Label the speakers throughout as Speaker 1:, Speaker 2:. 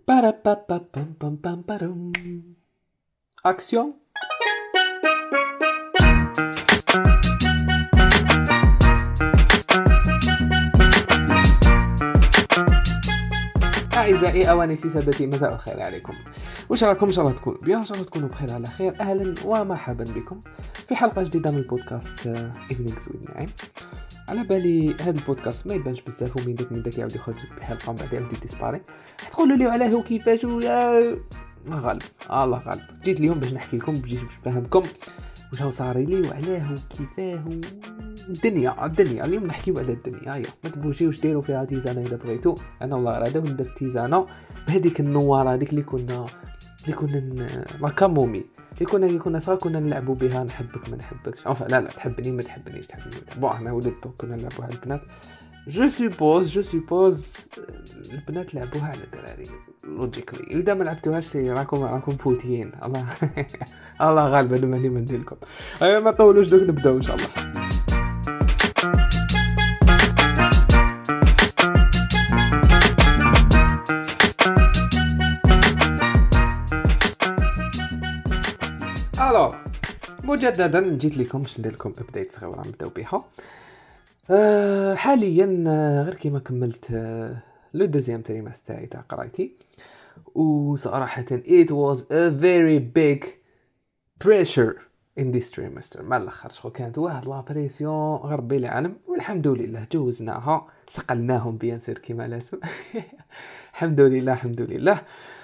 Speaker 1: Parapapapam-pam-pam-parum. Action. أعزائي أوانسي سادتي، مساء الخير عليكم. وش راكم؟ إن شاء الله تكونوا بيان، إن شاء الله تكونوا بخير على خير. أهلا ومرحبا بكم في حلقة جديدة من البودكاست إيفنينغز ويز نعيم. على بالي هذا البودكاست ما يبانش بزاف ومن داك يعاود يخرج بحلقة ومن بعد يعاود يديسباري. تقولوا لي علاه وكيفاش ويا غالب الله غالب. جيت اليوم باش نحكي لكم، باش نفهمكم واش هو صار لي وعلاه وكيفاه الدنيا اليوم نحكيو على الدنيا. هيا ما تبوشيوش ديروا فيها تيزانه اذا بغيتو. انا والله راده وندير تيزانه بهذيك النواره هذيك اللي كنا لا كامومي اللي كنا صار كنا نلعبوا بها. نحبك ما نحبكش، لا تحبني ما تحبنيش، بون احنا ولدت كنا نلعبوا على البنات. جو سوبوز البنات لعبوها على الدراري لوجيكلي. اذا ما لعبتوهاش سي راكم فوتيين. الله الله غالب انا ماني ندير لكم. ايوا ما طولوش دوك نبداو ان شاء الله. الو مجددا جيت لكم باش ندير لكم ابديت صغيره نبداو بها. حاليا غير كيما كملت لو دوزيام تريمستر تاعي تاع قرايتي، وصراحه it was a very big pressure in this trimester. ما الاخر شغل كانت واحد لا بريسيون غير بي العالم، والحمد لله جوزناها سقلناهم بيان سير كيما لازم. الحمد لله.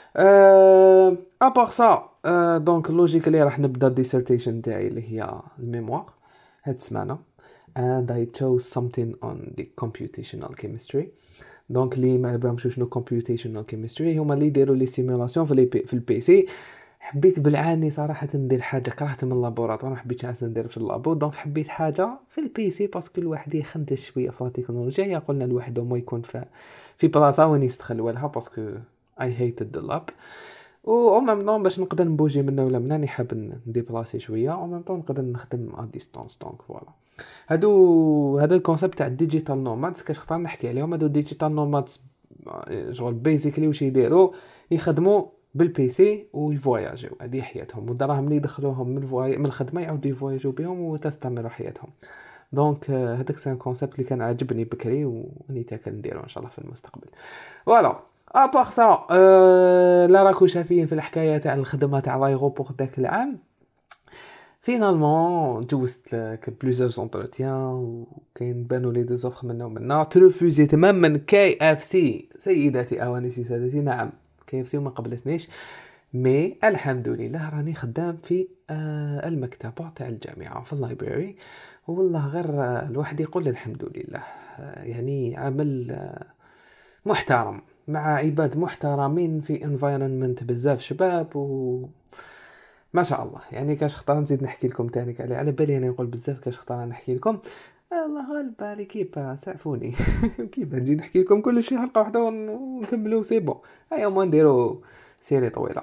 Speaker 1: ابار سا دونك لوجيكلي راح نبدا الديسيرتيشن تاعي اللي هي الميموار هاد السمانه. and I chose something on the computational chemistry. دونك اللي ما عرفهمش شنو computational chemistry هما اللي يديروا لي سيمولاسيون في البي سي. حبيت بالعاني صراحه ندير حاجه، كرهت من اللابوراتوار، ما حبيتش ندير في اللابو. دونك حبيت حاجه في البي سي باسكو الواحد يخندش شويه في التكنولوجيا. قلنا الواحد ما يكون في بلاصه وين يستخلوا لها باسكو I hated the lab. و ميم باش نقدر نبوجي منه ولا من هنا حاب نديبلاسي شويه، و ميم نقدر نخدم ا ديستانس. دونك فوالا هذا الكونسيبت تاع الديجيتال نومادز كنختار نحكي عليهم. هادو ديجيتال نومادز جوغ بيزيكلي واش يديروا، يخدموا بالبي سي ويفواياجيو، هذه حياتهم، والدراهم اللي يدخلوهم من الخدمه يعاودوا يفواياجيو بهم وتستمر حياتهم. دونك هذاك سان كونسيبت اللي كان عجبني بكري وني تا كنديرو ان شاء الله في المستقبل. فوالا ابار سا لا راكو شافين في الحكايه تاع الخدمه تاع لايغوبور داك العام. فينالمون جوزت بلوزيرز انتروتيان وكاين بانوا لي دي زوفر منا ترفوزي تماما. كي اف سي سيداتي اوانسي سادتي، نعم كي اف سي وما قبلتنيش، مي الحمد لله راني خدام في المكتبه تاع الجامعه في اللايبراري. والله غير الواحد يقول الحمد لله، يعني عمل محترم مع عباد محترمين في environment بزاف شباب ما شاء الله. يعني كاش خطر نزيد نحكي لكم تاني على بالي انا نقول بزاف كاش خطر نحكي لكم. الله غالب على كيف سعفوني. كيف نجي نحكي لكم كل شيء حلقه واحده ونكملوا سي بون. هيا ما نديروا سيري طويله.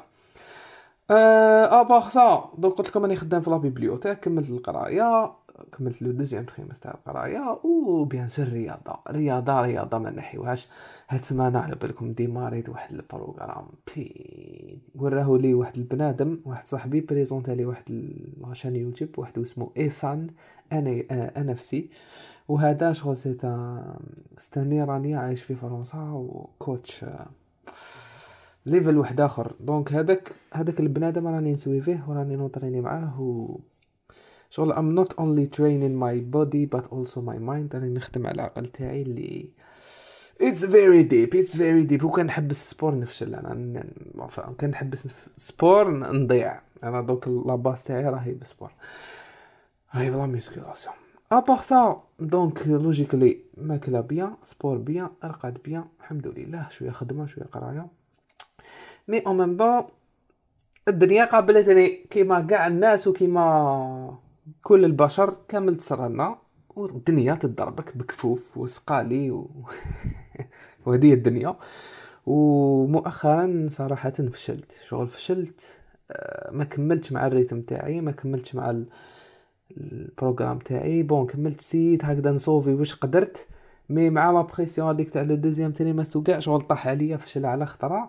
Speaker 1: ابار سا دونك قلت لكم راني خدام في لا بيبليوتيك، كملت القرايه، كملت لو دوزيام تريمستر تاع القرايه. وبيان سور رياضه ما نحيوهاش. هاد السمانه على بالكم ديماريت واحد البروغرام وراه لي واحد البنادم، واحد صاحبي بريزونطا لي واحد لاشين يوتيوب واحد اسمه ايسان انفسي. وهذا شغل ستاني راني عايش في فرنسا وكوتش ليفل واحد اخر. دونك هذاك البنادم راني نسوي فيه وراني نوطريني معاه شغل I'm not only training my body but also my mind. راني نخدم على العقل تاعي اللي it's very deep. وكان نحبس سبور نفشل. انا كان نحبس سبور نضيع. انا دوك لاباس تاعي راهي بسبور، راهي بلا ميسكولاسيون. ابار سا دونك لوجيكلي ماكله بيان، سبور بيان، ارقاد بيان، الحمد لله. شويه خدمه شويه قرايه، مي او ميم با الدنيا قابلتني كيما كاع الناس وكيما كل البشر كامل تصرنا، والدنيا تضربك بكفوف وسقالي وهذه الدنيا. ومؤخرا صراحه فشلت ما كملتش مع الريتم تاعي، ما كملتش مع البروغرام تاعي. بون كملت سيت هكذا نصوفي واش قدرت، مي مع لا بريسيون هذيك تاع لو دوزيام تريمستر وكاع شغل طاح عليا، فشل على خطره.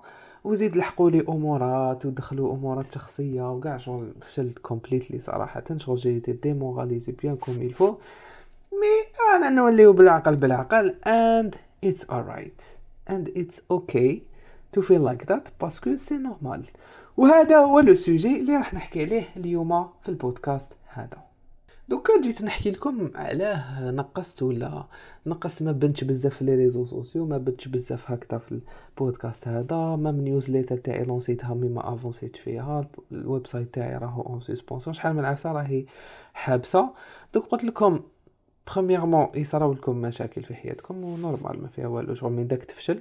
Speaker 1: وزيد لحقوا لي امورات ودخلوا امورات شخصيه وكاع، شغل فشلت كومبليتلي صراحه. شغل جاي ديموراليزي بيان كوم يلفو، مي انا نوليو بالعقل بالعقل and it's alright and it's okay to feel like that باسكو سي نورمال. وهذا هو لو سوجي اللي راح نحكي عليه اليوم في البودكاست هذا. دوكا جيت نحكي لكم علاه نقصت ولا نقص، ما بنتش بزاف في لي ريزو سوسيو، ما بنتش بزاف هكذا في البودكاست هذا. ما من نيوزليتر تاعي لونسيتها مي ما افونسيت فيها، الويب سايت تاعي راهو اون سسبونسيون، شحال من عفسه راهي حابسه. دوك قلت لكم برومييرمون يصراو لكم مشاكل في حياتكم ونورمال ما فيها والو، شغل من داك تفشل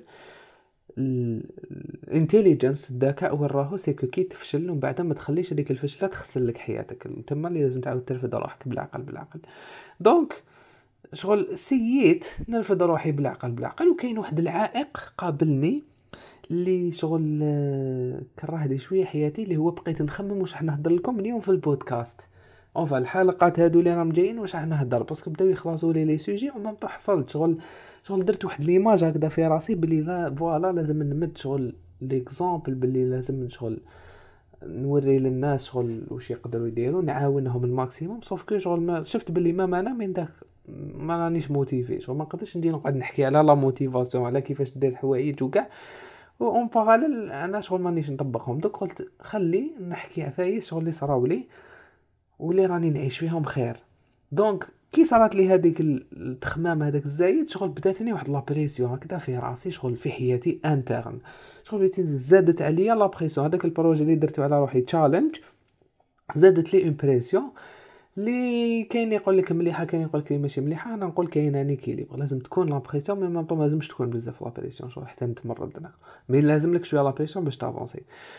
Speaker 1: الانتيليجنس الذكاء وراهو سيكو كي تفشل ومن بعد ما تخليش هذيك الفشله تخسر لك حياتك، تما اللي لازم تعاود ترفد روحك بالعقل بالعقل. دونك شغل سييت نرفد روحي بالعقل بالعقل، وكاين واحد العائق قابلني اللي شغل كره لي شويه حياتي، اللي هو بقيت نخمم واش راح نهضر لكم اليوم في البودكاست. اونفا الحلقات هادو اللي راهم جايين واش راح نهضر، باسكو بداو يخلصوا لي سوجي وما حصلت شغل درت واحد ليماج هكذا في راسي بلي لا فوالا لازم نمد شغل ليكزامبل، بلي لازم شغل نوري للناس شغل واش يقدروا يديروا، نعاونهم الماكسيموم. صوف كو شغل ما شفت بلي ما انا من داك ما رانيش موتيفي، شغل ما نقدرش ندير نقعد نحكي على لا موتيفاسيون على كيفاش دير الحوايج وكاع اون باراليل انا شغل مانيش نطبقهم. دوك قلت خلي نحكي عفايس شغل اللي صراو لي واللي راني نعيش فيهم خير. دونك كي صارت لي هذيك التخمام هذاك الزايد، شغل بداتني واحد لابريسيون هكذا في راسي، شغل في حياتي انترن، شغل بديت زادت عليا لابريسيون. هذاك البروجي اللي درته على روحي تشالنج زادت لي امبريسيون، اللي كاين يقول لك مليحه كاين يقول لك ماشي مليحه. انا نقول كاين اني كيليبر، لازم تكون لابريسيون مي ما لازمش تكون بزاف لابريسيون، شغل حتى نتمرد انا مي لازم لك شويه لابريسيون باش تافونسي.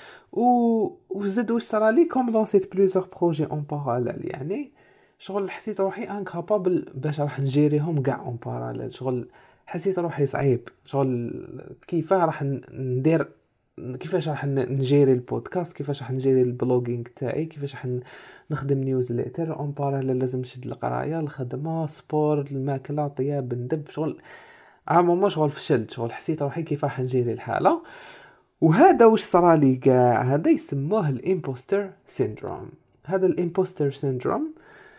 Speaker 1: وزاد واش صرا لي كوم لونسيت بليزيور بروجي اون باراليل، يعني شغل حسيت روحي انكابابل باش راح نجيريهم كاع اون باراليل. شغل حسيت روحي صعيب، شغل كيفاه راح ندير، كيفاش راح نجيري البودكاست، كيفاش راح نجيري البلوغينغ تاعي، كيفاش راح نخدم نيوزليتر اون باراليل، لازم نشد القرايه الخدمه سبور الماكله طياب ندب شغل عموما. شغل فشلت، شغل حسيت روحي كيف راح نجيري الحاله. وهذا واش صرا لي كاع، هذا يسموه الامبوستر سيندروم. هذا الامبوستر سيندروم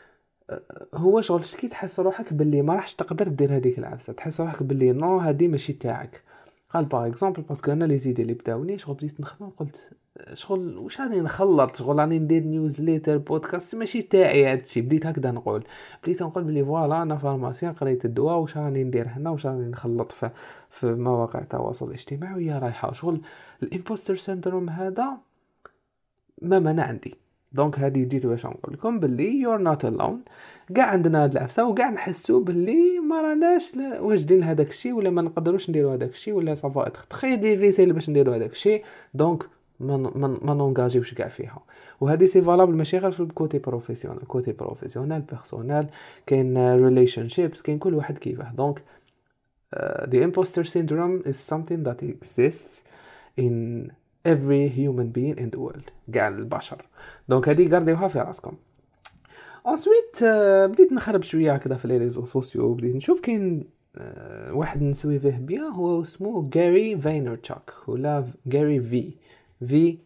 Speaker 1: هو شغل كي تحس روحك باللي ما راحش تقدر دير هذيك العفسه، تحس روحك باللي نو هذه ماشي تاعك. قال باغ اكزومبل باسكو انا لي زيدي اللي بداوني شغل بديت نخدم، قلت شغل واش راني نخلط، شغل راني ندير نيوزليتر بودكاست ماشي تاعي هادشي. بديت هكذا نقول بلي فوالا انا فارماسيان قريت الدواء، واش راني ندير هنا، واش راني نخلط في مواقع التواصل الاجتماعي ويا رايحه. شغل الامبوستر سيندروم هذا ما عندي. دونك هذه جيت باش نقول لكم باللي يور نوت الون، كاع عندنا هاد العفسه وكاع نحسوا باللي ما راناش واجدين هذاك الشيء، ولا ما نقدروش نديروا هذاك الشيء، ولا صافا تري ديفيسيل باش نديروا هذاك الشيء. دونك ما نونجاجيوش كاع فيها. وهذه سي فالابل ماشي غير في الكوتي بروفيسيونال، كوتي بروفيسيونال بيرسونال، كاين ريليشن شيبس، كاين كل واحد كيفاه. دونك the imposter syndrome is something that exists in every human being in the world، كاع البشر. دونك هذه قرديوها في راسكم. انسويت بديت نخرب شويه هكذا في لي ريزو سوسيو، بديت نشوف كاين واحد نسويفه بيان، هو اسمه غاري فاينرتشاك ولا غاري في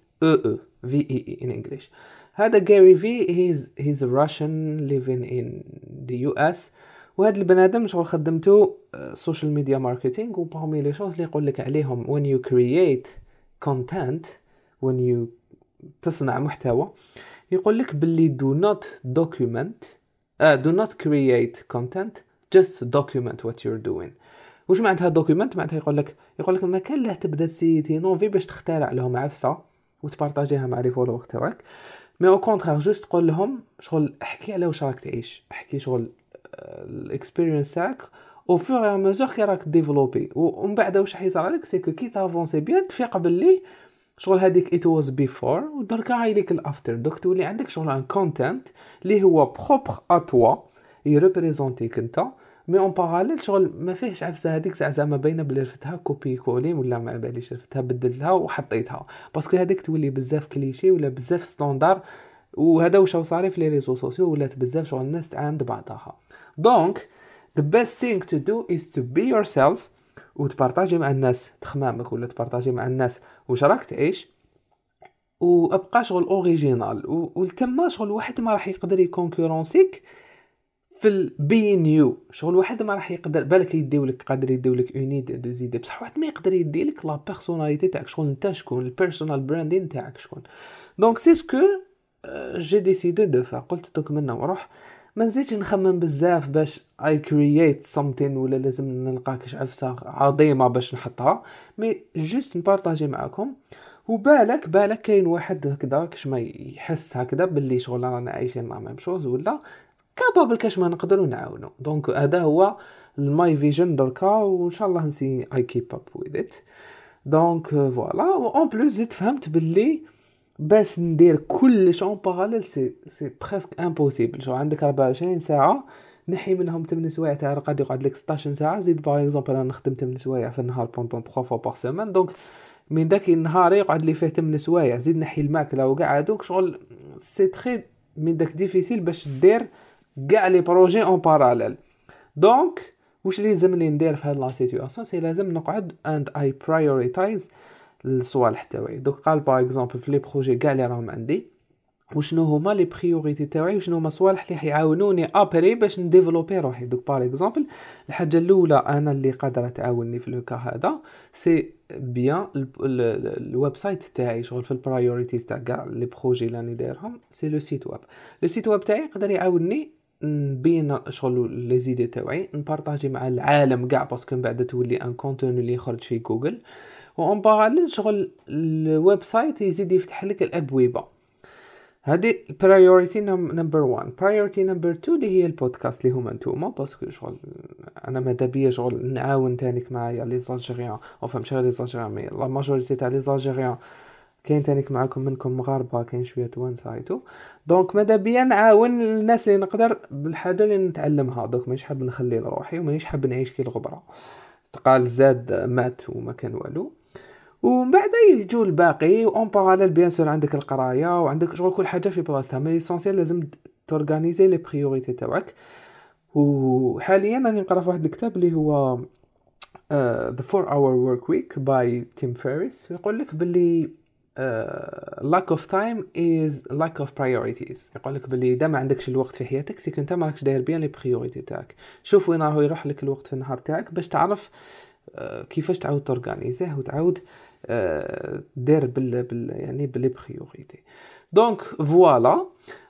Speaker 1: in English. هذا غاري في he's a Russian living in the US. وهذا البنادم شغل خدمته سوشيال ميديا ماركتينغ، وبارمي لي شوز اللي يقول لك عليهم when you create content، when you تصنع محتوى، يقول لك باللي do not create content، just document what you're doing. وش معناتها document؟ معناتها يقول لك ما كان له تبدا تسيتي نوفي باش تخترع لهم عفسه وتبارطاجيها مع لي فولور تاعك، مي او كونترير جوست تقول لهم شغل احكي على واش راك تعيش، احكي شغل الاكسبيرينس تاعك او فور اي ميزور كي راك ديفلوبي. ومن بعد واش حيصرى لك سي كو كي تافونسي بيان تفيق باللي شغل هذيك it was before ودركا هايليك الافتر. دوك تولي عندك شغل ان كونتنت اللي هو بروبر ا توا يريبريزونتيك انت، مي اون باراليل شغل ما فيهش عفسه هذيك زعما باينه بلي رفتها كوبي كولي ولا ما باليش رفتها بدلتها وحطيتها، باسكو هذيك تولي بزاف كليشي ولا بزاف ستاندار. وهذا واش صاري في لي ريزو سوسيو، ولات بزاف شغل الناس تعاند بعضها. دونك the best thing to do is to be yourself وتبارطاجي مع الناس تخمامك، ولا تبارطاجي مع الناس واش راك تعيش، وابقى شغل اوريجينال. والتما شغل واحد ما راح يقدر يكونكورونسيك في البي نيو. شغل واحد ما راح يقدر بالك يديولك، قادر يديولك اوني دو زيدي، بصح واحد ما يقدر يديلك لا بيرسوناليتي تاعك. شغل انت شكون، البيرسونال براندين تاعك شكون. دونك سي سكو جي ديسيدي دو فا. قلت دوك منا وروح ما نزيدش نخمم بزاف باش اي كرييت سمثين، ولا لازم نلقى كاش عفسه عظيمه باش نحطها، مي جوست نبارطاجي معكم. وبالك كاين واحد هكذا كاش ما يحس هكذا باللي شغل رانا عايشين لا ميم شوز، ولا كابابل كاش ما نقدروا نعاونوا. دونك هذا هو الماي فيجن دركا، وان شاء الله نسي اي كيب اب وذ ات. دونك فوالا. اون بلوس زدت فهمت باللي باش ندير كلش اون باراليل سي بريسك امبوسيبل. شو عندك 24 ساعه نحي منهم 8 سوايع تاع قاعد يقعد لك 16 ساعه. زيد باغ اكزومبل انا نخدم 8 سوايع في النهار بوندون 3 فوا بار سيمين، دونك من داك النهار يقعد لي فيه 8 سوايع. زيد نحي الماكله وكاع هذوك شغل سي تري من داك ديفيسيل باش دير كاع لي بروجي اون باراليل. دونك واش اللي لازمني ندير في هاد لا سيتوياسيون؟ سي لازم نقعد اند اي برايوريتايز الصوالح تاعي. دوك قال باغ اكزومبل في لي بروجي كاع اللي راهم عندي وشنو هما لي بريوريتي تاعي، وشنو هما الصوالح اللي حيعاونوني ابري باش نديفلوبي روحي. دوك باغ اكزومبل الحاجه الاولى انا اللي قادره تعاونني في لوكا هذا سي بيان الويب سايت تاعي. شغل في البرايوريتيز تاع كاع لي بروجي اللي راني دايرهم سي لو سيت ويب. لو سيت ويب تاعي يقدر يعاونني نبين شغل لي زيدي تاعي، نبارطاجي مع العالم كاع، باسكو من بعد تولي ان كونتوني اللي يخرج في جوجل. وان باراليل شغل الويب سايت يزيد يفتح لك الابويبه. هذه برايورتي نمبر 1. برايورتي نمبر 2 اللي هي البودكاست اللي هما نتوما، باسكو شغل انا ماذا بيا شغل نعاون تانيك معايا لي زالجيريان، او فهم شغل لي زالجيريان، مي لا ماجوريتي تاع لي زالجيريان كاين تانيك معاكم منكم مغاربه، كاين شويه توانسايتو. دونك ماذا بيا نعاون الناس اللي نقدر بالحاجه اللي نتعلمها. دونك مانيش حاب نخلي لروحي، ومانيش حاب نعيش كي الغبره تقال زاد مات وما كان والو. ومن بعد يجوا الباقي اون باراليل بيان سور عندك القرايه وعندك شغل كل حاجه في بلاصتها. مي ليسونسيال لازم تورغانيزي لي بريوريتي تاعك. وحاليا راني نقرا في واحد الكتاب اللي هو The 4 Hour Work Week by Tim Ferriss. يقول لك باللي lack of time is lack of priorities. يقول لك باللي اذا ما عندكش الوقت في حياتك سي كنت ما راكش داير بيان لي بريوريتي تاعك. شوف وين راهو يروح لك الوقت في النهار تاعك باش تعرف كيفاش تعاود تورغانيزيه وتعاود دير يعني باللي بريوريتي. دونك فوالا.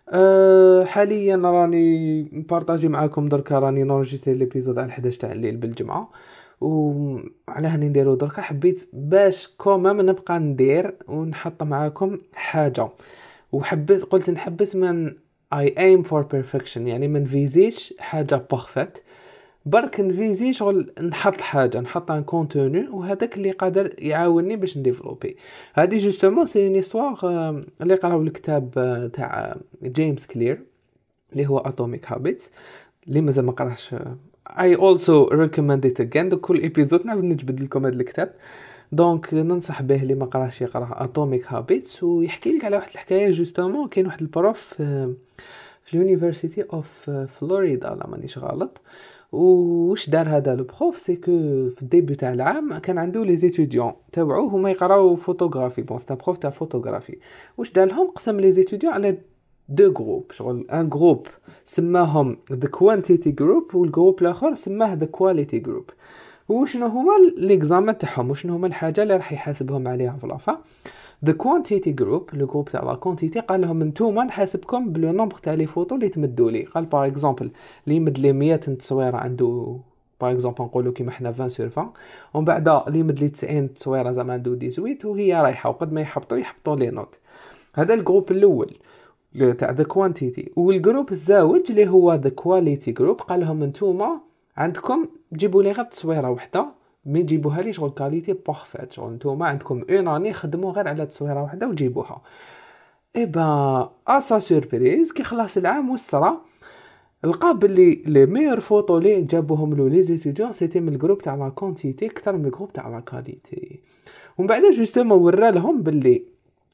Speaker 1: حاليا راني نبارطاجي معاكم دركا، راني نورجيتي ليبيزود على 11 تاع الليل بالجمعه. وعلى هاني نديرو دركا حبيت باش كومام نبقى ندير ونحط معاكم حاجه. وحبيت قلت نحبس من I aim for perfection، يعني من فيزيش حاجه بارفيت، برك نفيزي شغل نحط حاجه، نحط ان كونتوني، وهذاك اللي قادر يعاونني باش نديفلوبي. هذه جوستومون سي اون هيستوار اللي قراو الكتاب تاع جيمس كلير اللي هو اتوميك هابيتس. اللي مازال ما قراش I also recommend it again. كل ايبيزود نعاود نجبد لكم هذا الكتاب. دونك ننصح به اللي ما قراش يقرا اتوميك هابيتس. ويحكي لك على واحد الحكايه جوستومون. كاين واحد البروف في اليونيفرسيتي اوف فلوريدا لا مانيش غلط. وش دار هذا البروف سي كو في الديبي تاع العام كان عنده لي زيتوديون تاعو هما يقراو فوتوغرافي. بون ستا بروف تاع فوتوغرافي. واش دار لهم؟ قسم لي زيتوديون على دو جروب. شغل ان جروب سماهم ذا كوانتيتي جروب، والجروب الاخر سماه ذا كواليتي جروب. وشنو هما ليكزامان تاعهم، وشنو هما الحاجه اللي راح يحاسبهم عليها في لافا؟ The quantity group لو جروب تاع لا كونتيتي قال لهم نتوما نحاسبكم بلو نومبر تاع لي فوتو اللي تمدوا لي. قال باغ اكزومبل اللي يمد لي 100 تصويره عنده باغ اكزومبل نقولوا كيما حنا 20 سور 20، ومن بعد اللي يمد لي 90 تصويره زعما عنده 18 وهي رايحه، وقد ما يحبطوا لي نوت. هذا الجروب الاول تاع ذا كوانتيتي. والجروب الزاوج اللي هو ذا كواليتي جروب قال لهم نتوما عندكم جيبوا لي غير تصويره واحده، مي جيبوها لي شغل كاليتي بارفيت. شغل نتوما عندكم اون اني خدموا غير على تصويره واحده وجيبوها. اي با اسا سوربريز كي خلاص العام والسرا لقى بلي لي ميور فوتو لي جابوهم له لي زيتوديون سيتي من الجروب تاع لا كونتيتي اكثر من الجروب تاع لا كاليتي. ومن بعد جوستومون ورا لهم بلي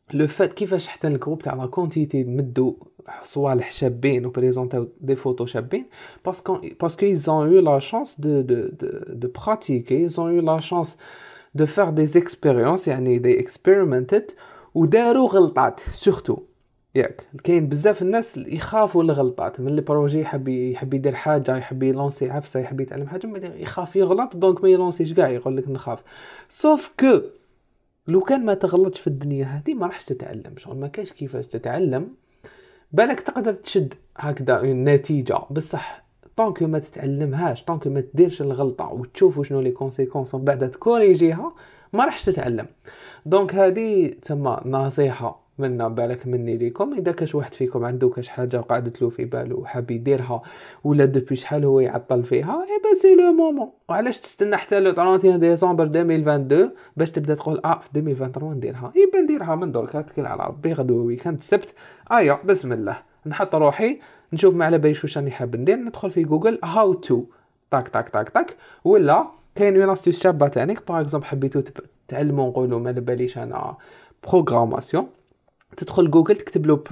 Speaker 1: لو فات كيفاش حتى الجروب تاع لا كونتيتي مدوا صوالح شابين وبريزونطاو دي فوتو شابين باسكو ils ont eu la chance de pratiquer, ils ont eu la chance de faire des expériences, يعني they experimented وداروا غلطات سورتو. ياك كاين بزاف الناس يخافوا الغلطات من البروجي، يحب يدير حاجه، يحب يلونسي عفسه، يحب يتعلم حاجه، يخاف يغلط دونك ما يلونسيش كاع، يقول لك نخاف. سوف كو لو كان ما تغلطش في الدنيا هذه ما راحش تتعلم، شغل ما كاينش كيفاش تتعلم. بالك تقدر تشد هكذا النتيجه بصح طونك ما تتعلمهاش، طونك ما تديرش الغلطه وتشوفوا شنو لي كونسيكونس ومن بعد تكوريجيها ما راحش تتعلم. دونك هذه تسمى نصيحه منا بالك مني ليكم. اذا كاش واحد فيكم عنده كاش حاجه قاعدت له في باله وحاب يديرها ولا دوبي شحال هو يعطل فيها، اي با سي لو مومون. وعلاش تستنى حتى لو 31 ديسمبر 2022 باش تبدا تقول في 2023 نديرها؟ اي نديرها من درك، توكل على ربي. غدوه ويكاند السبت بسم الله نحط روحي نشوف ما على باليش واش راني حاب ندير، ندخل في جوجل هاو تو تاك تاك تاك تاك. ولا كاين اون استيس شابه تانيك، باغ اكزومبل حبيتو تعلموا نقولوا ما باليش انا بروغراماسيون، تدخل جوجل تكتب له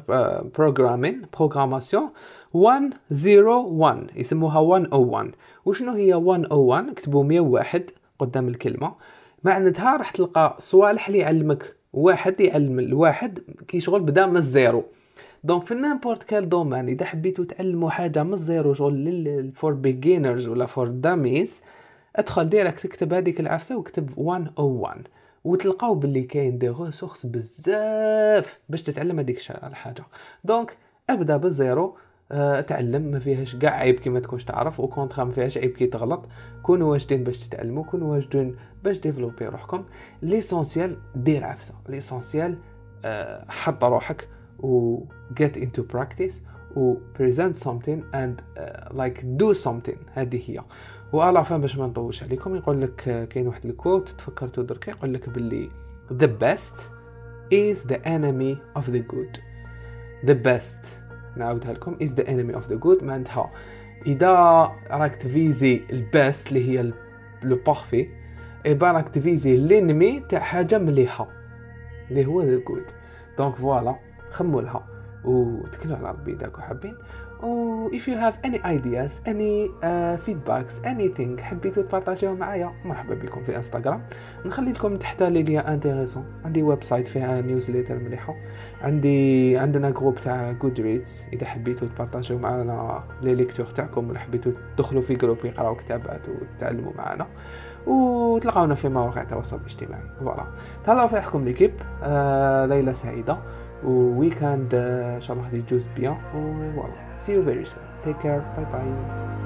Speaker 1: بروغراماسيون 101 يسموها 101. وشنو هي 101؟ اكتبوا 101 قدام الكلمه، معناتها راح تلقى صوالح اللي يعلمك واحد يعلم الواحد كي شغل بدا من الزيرو. دونك في نيمبورت كال دومين اذا حبيتوا تعلموا حاجه من الزيرو شغل فور بيجينرز ولا فور داميز، ادخل ديريكت اكتب هذيك العفسه واكتب 101 وتلقاو باللي كاين دي ريسورس بزاف باش تتعلم هذيك الحاجه. دونك ابدا بالزيرو، تعلم، ما فيهاش كاع عيب كي ما تكونش تعرف، وكونترا ما فيهاش عيب كي تغلط. كونوا واجدين باش تتعلموا، كونوا واجدين باش ديفلوبي روحكم. ليسونسيال دير عفسه، ليسونسيال حط روحك و get into practice و present something and like do something. هذه هي. وعلى فهم باش ما نطولش عليكم، يقول لك كاين واحد الكوت تفكرتو درك، يقول لك باللي the best is the enemy of the good. the best نعاودها لكم is the enemy of the good. معناتها اذا راك تفيزي البست اللي هي لو بارفي، ايبا راك تفيزي الانمي تاع حاجه مليحه اللي هو the good. دونك فوالا خموا لها وتكلوا على ربي اذا حابين. و if you have any ideas, any feedbacks, anything حبيتوا تبارطاجيو معايا، مرحبا بكم في انستغرام. نخلي لكم تحت لي ليا انتريسون، عندي ويب سايت فيها نيوزليتر مليحه، عندنا جروب تاع جودريدز اذا حبيتوا تبارطاجيو معنا لي ليكتور تاعكم ولا حبيتوا تدخلوا في جروب يقراو كتابات وتتعلموا معنا، وتلقاونا في مواقع التواصل الاجتماعي. فوالا تهلاو في حكم ليكيب. ليلة سعيدة وويكاند ان شاء الله يجوز بيان. وفوالا see you very soon. Take care. Bye bye.